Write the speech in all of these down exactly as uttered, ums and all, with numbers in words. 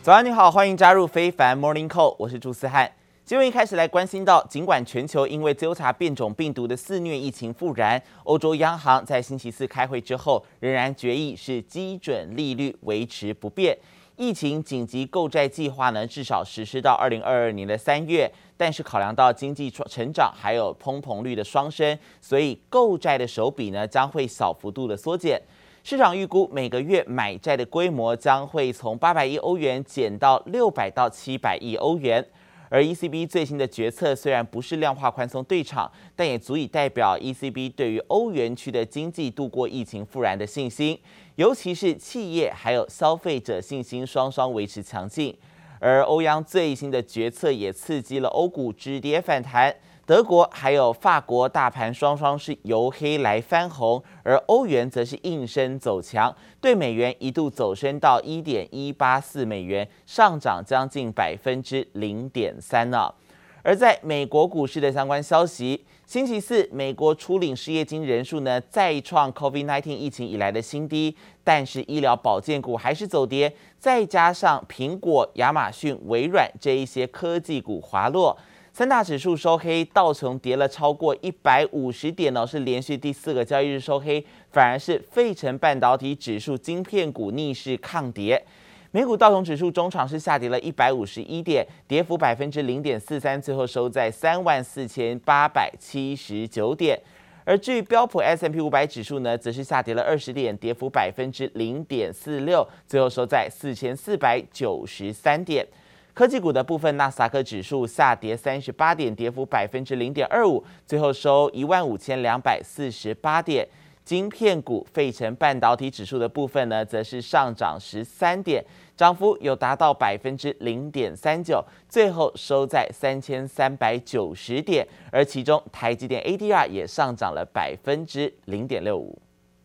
早安，你好，歡迎加入非凡 Morning Call， 我是朱思翰。新聞一開始來關心到，儘管全球因為 Delta 變種病毒的肆虐疫情復燃，歐洲央行在星期四開會之後，仍然決議是基準利率維持不變。疫情緊急購債計劃呢，至少實施到二零二二年的三月，但是考量到經濟成長還有通膨率的雙升，所以購債的手筆呢將會小幅度的縮減。市場預估每個月買債的規模將會從八百億歐元減到六百到七百億歐元。而 E C B 最新的決策雖然不是量化寬鬆對場，但也足以代表 E C B 對於歐元區的經濟度過疫情復燃的信心，尤其是企業還有消費者信心雙雙維持強勁。而歐央最新的決策也刺激了歐股止跌反彈。德國還有法國大盤雙雙是由黑來翻紅，而歐元則是應聲走強，對美元一度走升到 一點一八四美元，上漲將近百分之零點三呢。而在美國股市的相關消息，星期四美國初領失業金人數呢再創 COVID 十九 疫情以來的新低，但是醫療保健股還是走跌，再加上蘋果、亞馬遜、微軟這一些科技股滑落。三大指數收黑，道瓊跌了超過一百五十點哦，是連續第四個交易日收黑，反而是費城半導體指數晶片股逆勢抗跌。美股道瓊指數中場是下跌了一百五十一點，跌幅百分之零點四三，最後收在三萬四千八百七十九點。而至於標普 S and P 五百指數呢，則是下跌了二十點，跌幅百分之零點四六，最後收在四千四百九十三點。科技股的部分，納斯達克指數下跌三十八點，跌幅百分之零點二五，最後收一萬五千兩百四十八點。晶片股費城半導體指數的部分呢，則是上漲十三點，漲幅有達到百分之零點三九，最後收在三千三百九十點。而其中台積電 A D R 也上漲了百分之零點六五。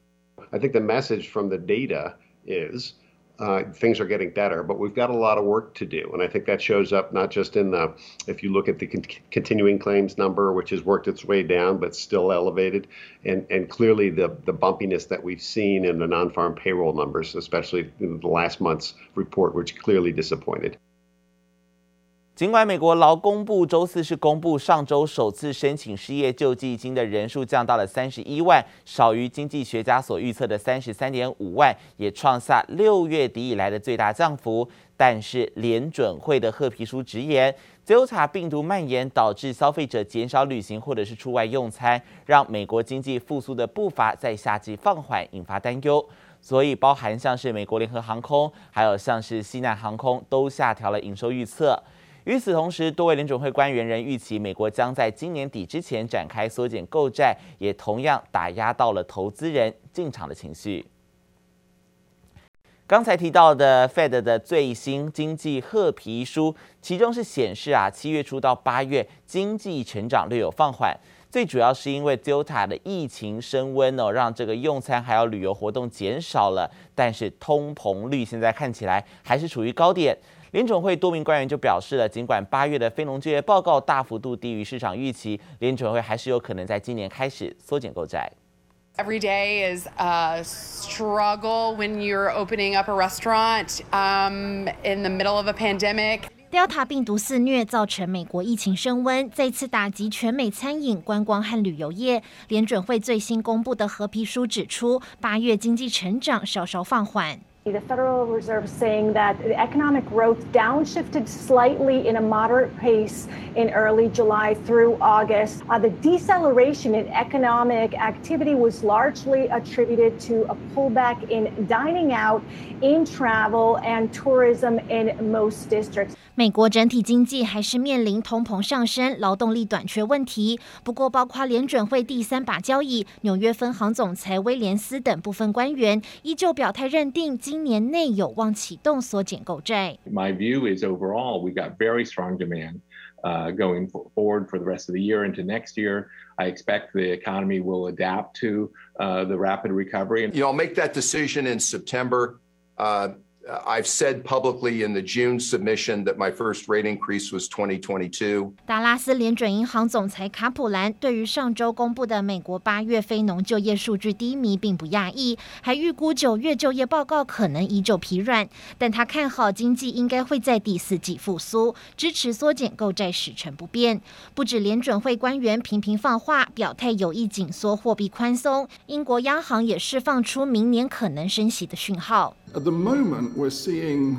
I think the message from the data is Uh, things are getting better, but we've got a lot of work to do. And I think that shows up not just in the, if you look at the con- continuing claims number, which has worked its way down, but still elevated, and, and clearly the, the bumpiness that we've seen in the non-farm payroll numbers, especially in the last month's report, which clearly disappointed. 儘管美國勞工部週四是公布上週首次申請失業救濟金的人數降到了三十一萬，少於經濟學家所預測的三十三點五萬，也創下六月底以來的最大降幅。但是聯準會的褐皮書直言 ，Delta 病毒蔓延導致消費者減少旅行或者是出外用餐，讓美國經濟復甦的步伐在夏季放緩，引發擔憂。所以包含像是美國聯合航空，還有像是西南航空都下調了營收預測。與此同時，多位聯準會官員仍預期美國將在今年底之前展開縮減購債，也同樣打壓到了投資人進場的情緒。剛才提到的 Fed 的最新經濟褐皮書，其中是顯示啊，七月初到八月經濟成長略有放緩，最主要是因為 Delta 的疫情升溫哦，讓這個用餐還有旅遊活動減少了，但是通膨率現在看起來還是處於高點。聯準會多名官員就表示了，儘管八月的非農就業報告大幅度低於市場預期，聯準會還是有可能在今年開始縮減購債。 Every day is a struggle when you're opening up a restaurant um, in the middle of a pandemic. Delta 病毒肆虐，造成美國疫情升溫，再次打擊全美餐飲、觀光和旅遊業。聯準會最新公布的褐皮書指出，八月經濟成長稍稍放緩。 The Federal Reserve saying that the economic growth downshifted slightly in a moderate pace in early July through August. Uh, the deceleration in economic activity was largely attributed to a pullback in dining out, in travel, and tourism in most districts. 美國整體經濟還是面臨通膨上升、勞動力短缺問題。不過，包括聯準會第三把交椅、紐約分行總裁威廉斯等部分官員，依舊表態認定今年內有望啟動縮減購債。 My view is overall we got very strong demand uh, going forward for the rest of the year into next year. I expect the economy will adapt to uh, the rapid recovery. You know, I'll make that decision in September. Uh, I've said publicly in the June submission that my first rate increase was twenty twenty-two. 达拉斯联準銀行總裁卡普蘭對於上週公布的美國八月非農就業數據低迷並不訝異，還預估九月就業報告可能依舊疲軟，但他看好經濟應該會在第四季復甦，支持縮減購債時程不變。不止聯準會官員頻頻放話，表態有意緊縮貨幣寬鬆，英國央行也釋放出明年可能升息的訊號。 At the moment, we're seeing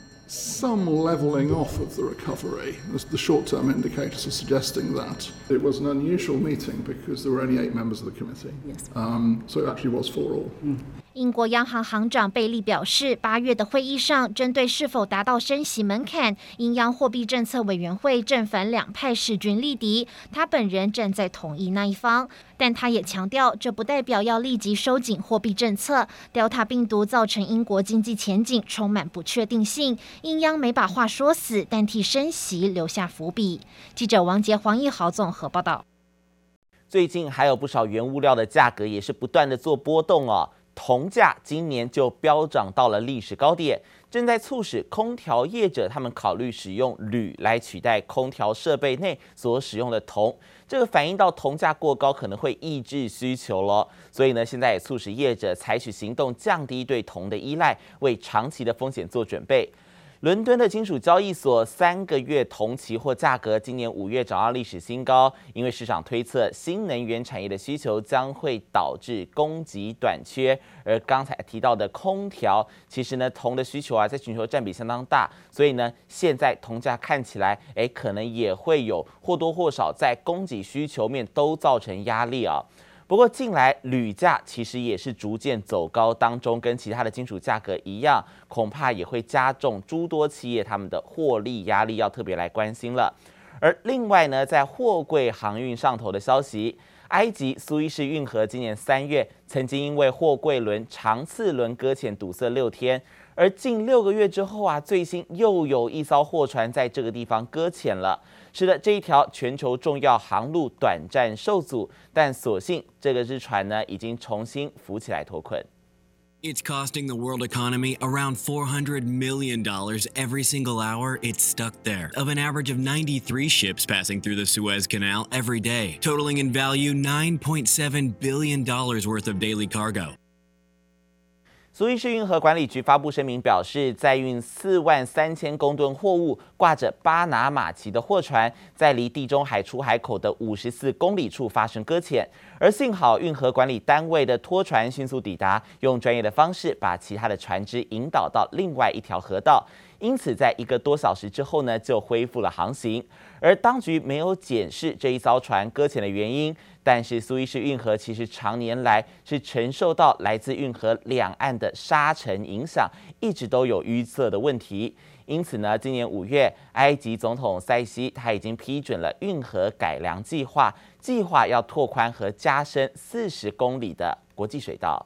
some leveling off of the recovery, as the short-term indicators are suggesting that. It was an unusual meeting because there were only eight members of the committee. Yes. Um, so it actually was for all. Mm. 英國央行行長貝利表示，八月的會議上，針對是否達到升息門檻，英央貨幣政策委員會正反兩派勢均力敵，他本人站在同意那一方。但他也強調，這不代表要立即收緊貨幣政策。Delta 病毒造成英國經濟前景充滿不確定性，英央沒把話說死，但替升息留下伏筆。記者王傑、黃義豪綜合報道。 最近還有不少原物料的價格也是不斷的做波動哦。銅價今年就飆漲到了歷史高點，正在促使空調業者他們考慮使用鋁來取代空調設備內所使用的銅。這個反映到銅價過高可能會抑制需求了，所以呢，現在也促使業者採取行動，降低對銅的依賴，為長期的風險做準備。倫敦的金屬交易所三個月銅期貨價格今年五月漲到歷史新高，因為市場推測新能源產業的需求將會導致供給短缺。而剛才提到的空調，其實呢銅的需求啊在全球佔比相當大，所以呢現在銅價看起來，哎可能也會有或多或少在供給需求面都造成壓力啊。不過近來鋁價其實也是逐漸走高當中，跟其他的金屬價格一樣，恐怕也會加重諸多企業他們的獲利壓力，要特別來關心了。而另外呢，在貨櫃航運上頭的消息，埃及蘇伊士運河今年三月曾經因為貨櫃輪長次輪擱淺堵塞六天，而近六個月之後啊，最新又有一艘貨船在這個地方擱淺了。是的，這一條全球重要航路短暫受阻，但所幸這個隻船呢已經重新浮起來脫困。 It's costing the world economy around four hundred million dollars every single hour it's stuck there, of an average of ninety-three ships passing through the Suez Canal every day, totaling in value nine point seven billion dollars worth of daily cargo. 蘇伊士運河管理局發布聲明表示，載運四萬三千公噸貨物、掛着巴拿馬旗的貨船，在離地中海出海口的五十四公里處發生擱淺，而幸好運河管理單位的拖船迅速抵達，用專業的方式把其他的船隻引導到另外一條河道，因此在一個多小時之後呢，就恢復了航行。而當局沒有檢視這一艘船擱淺的原因，但是蘇伊士運河其實常年來是承受到來自運河兩岸的沙塵影響，一直都有淤塞的問題。因此呢，今年五月，埃及總統塞西他已經批准了運河改良計劃，計劃要拓寬和加深四十公里的國際水道。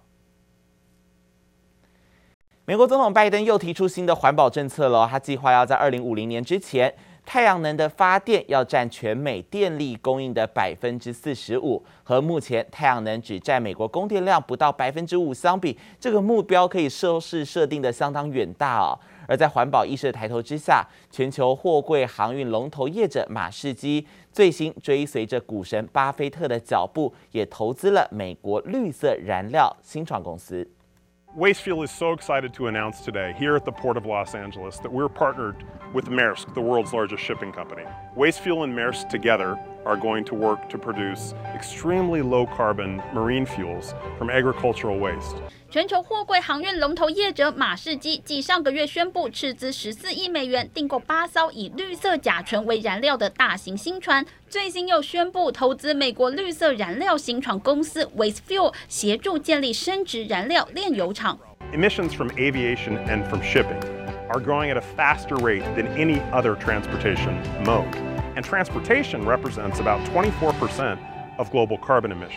美國總統拜登又提出新的環保政策了，他計劃要在二零五零年之前，太陽能的發電要佔全美電力供應的百分之四十五，和目前太陽能只佔美國供電量不到百分之五相比，這個目標可以說是設定的相當遠大哦。而在環保意識的抬頭之下，全球貨櫃航運龍頭業者馬士基最新追隨着股神巴菲特的腳步，也投資了美國綠色燃料新創公司。 Wastefuel is so excited to announce today here at the Port of Los Angeles that we're partnered with Maersk, the world's largest shipping company. Wastefuel and Maersk together are going to work to produce extremely low-carbon marine fuels from agricultural waste. 全球貨櫃航運龍頭業者馬士基繼上個月宣布斥資十四億美元訂購八艘以綠色甲醇為燃料的大型新船，最新又宣布投資美國綠色燃料新創公司 Wastefuel， 協助建立生質燃料煉油廠。 Emissions from aviation and from shipping are growing at a faster rate than any other transportation mode, and transportation represents about twenty-four percent of global carbon emissions.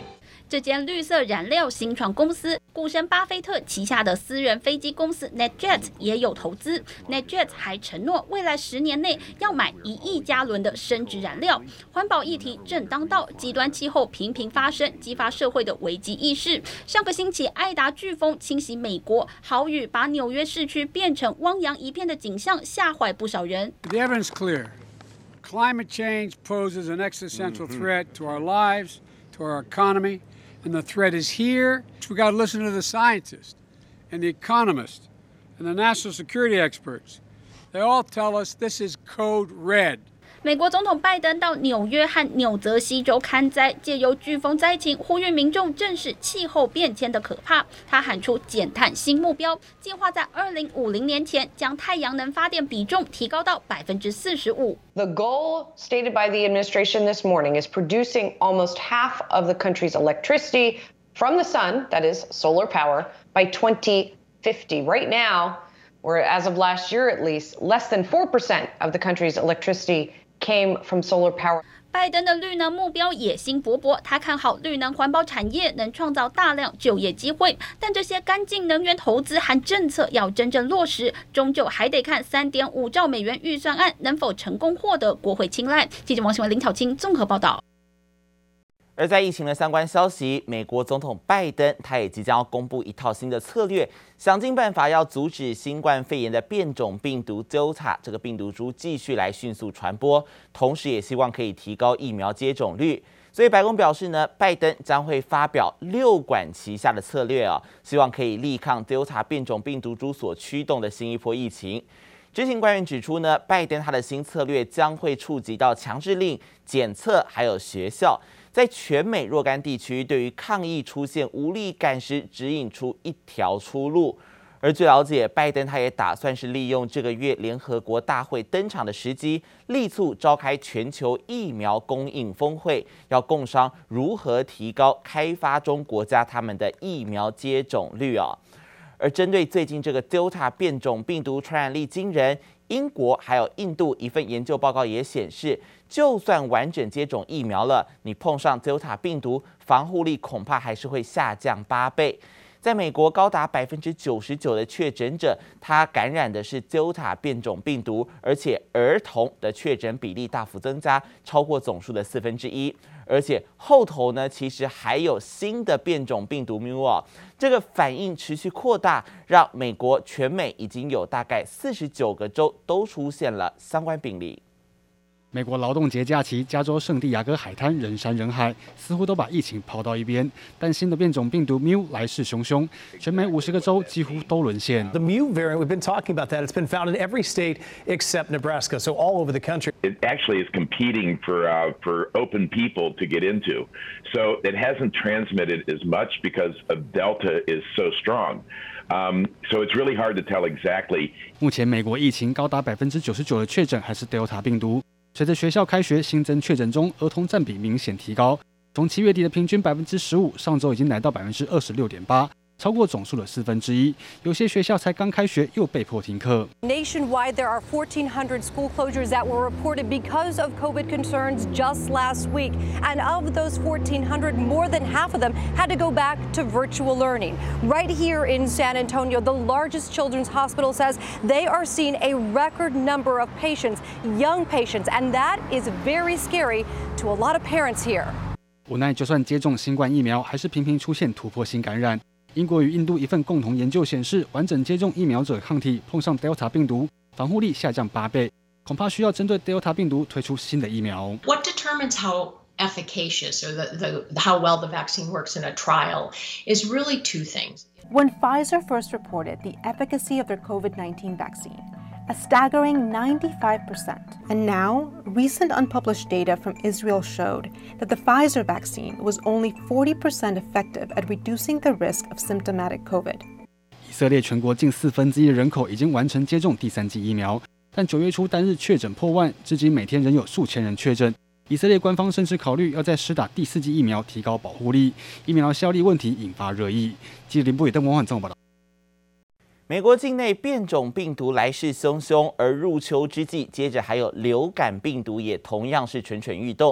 這間綠色燃料新創公司，股神巴菲特旗下的私人飛機公司 NetJet 也有投資。NetJet 還承諾未來十年內要買一億加侖的生質燃料。環保議題正當道，極端氣候頻頻發生，激發社會的危機意識。上個星期，愛達颶風侵襲美國，豪雨把紐約市區變成汪洋一片的景象，嚇壞不少人。 The evidence is clear. Climate change poses an existential threat to our lives, to our economy, and the threat is here. We got to listen to the scientists and the economists and the national security experts. They all tell us this is code red. 美國總統拜登到紐約和紐澤西州勘災，借由颶風災情呼籲民眾正視氣候變遷的可怕。他喊出減碳新目標，計劃在二零五零年前將太陽能發電比重提高到百分之四十五。 The goal stated by the administration this morning is producing almost half of the country's electricity from the sun, that is solar power, by twenty fifty. Right now, or as of last year at least, less than four percent of the country's electricity came from solar power. 拜登的綠能目標野心勃勃，他看好綠能環保產業能創造大量就業機會，但這些乾淨能源投資和政策要真正落實，終究還得看三點五兆美元預算案能否成功獲得國會青睞。記者王新文、林巧清綜合報道。 而在疫情的相關消息，美國總統拜登他也即將要公布一套新的策略，想盡辦法要阻止新冠肺炎的變種病毒 Delta 這個病毒株繼續來迅速傳播，同時也希望可以提高疫苗接種率。所以白宮表示呢，拜登將會發表六管齊下的策略啊，希望可以力抗 Delta 變種病毒株所驅動的新一波疫情。知情官員指出呢，拜登他的新策略將會觸及到強制令、檢測還有學校。在全美若干地區，對於抗疫出現無力感時，指引出一條出路。而據了解，拜登他也打算是利用這個月聯合國大會登場的時機，力促召開全球疫苗供應峰會，要共商如何提高開發中國家他們的疫苗接種率啊。而針對最近這個 Delta 變種病毒傳染力驚人，英國還有印度一份研究報告也顯示，就算完整接種疫苗了，你碰上 Delta 病毒，防護力恐怕還是會下降八倍。在美國，高達百分之九十九的確診者，他感染的是 Delta 變種病毒，而且兒童的確診比例大幅增加，超過總數的四分之一。而且後頭呢，其實還有新的變種病毒 Mu 啊，這個反應持續擴大，讓美國全美已經有大概四十九個州都出現了相關病例。 美國勞動節假期，加州聖地亞哥海灘人山人海，似乎都把疫情拋到一邊。但新的變種病毒 Mu 來勢洶洶，全美五十個州幾乎都淪陷。 The Mu variant, we've been talking about that. It's been found in every state except Nebraska, so all over the country. It actually is competing for uh, for open people to get into, so it hasn't transmitted as much because of Delta is so strong. Um, so it's really hard to tell exactly. 目前美國疫情高達百分之九十九的確診還是 Delta 病毒。隨着學校開學，新增確診中兒童佔比明顯提高，從七月底的平均百分之十五，上週已經來到百分之二十六點八，超過總數的四分之一。有些學校才剛開學，又被迫停課。 Nationwide, there are fourteen hundred school closures that were reported because of COVID concerns just last week. And of those fourteen hundred, more than half of them had to go back to virtual learning. Right here in San Antonio, the largest children's hospital says they are seeing a record number of patients, young patients, and that is very scary to a lot of parents here. 無奈，就算接種新冠疫苗，還是頻頻出現突破性感染。英國與印度一份共同研究顯示，完整接種疫苗者抗體碰上 Delta 病毒，防護力下降八倍，恐怕需要針對 Delta 病毒推出新的疫苗。 What determines how efficacious or the, the, how well the vaccine works in a trial is really two things. When Pfizer first reported the efficacy of their COVID nineteen vaccine, a staggering ninety-five percent. And now, recent unpublished data from Israel showed that the Pfizer vaccine was only forty percent effective at reducing the risk of symptomatic COVID. 以色列全國近四分之一的人口已經完成接種第三劑疫苗，但九月初單日確診破萬，至今每天仍有數千人確診。以色列官方甚至考慮要再施打第四劑疫苗，提高保護力。疫苗效力問題引發熱議。記者林博宇、鄧文煥綜合報道。 美國境內變種病毒來勢洶洶，而入秋之際，接着還有流感病毒也同樣是蠢蠢欲動。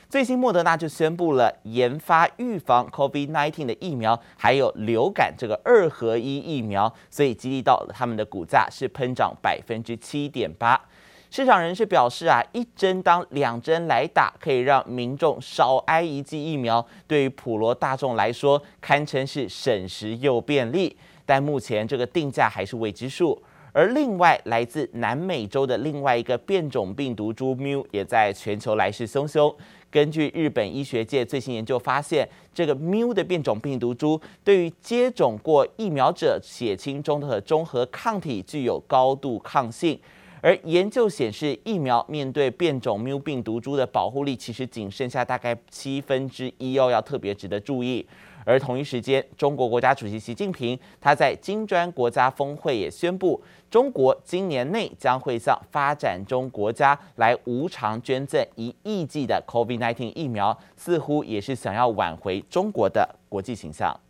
最新莫德納就宣布了研發預防 COVID 十九 的疫苗，還有流感這個二合一疫苗，所以激勵到了他們的股價是噴漲百分之七點八。市場人士表示啊，一針當兩針來打，可以讓民眾少挨一劑疫苗，對於普羅大眾來說，堪稱是省時又便利。但目前這個定價還是未知數。而另外，來自南美洲的另外一個變種病毒株 Mu 也在全球來勢洶洶。根據日本醫學界最新研究發現，這個 Mu 的變種病毒株對於接種過疫苗者血清中的中和抗體具有高度抗性。而研究顯示，疫苗面對變種 Mu 病毒株的保護力其實僅剩下大概七分之一哦，要特別值得注意。而同一時間，中國國家主席習近平他在金磚國家峰會也宣布，中國今年內將會向發展中國家來無償捐贈一億劑的 COVID 十九 疫苗，似乎也是想要挽回中國的國際形象。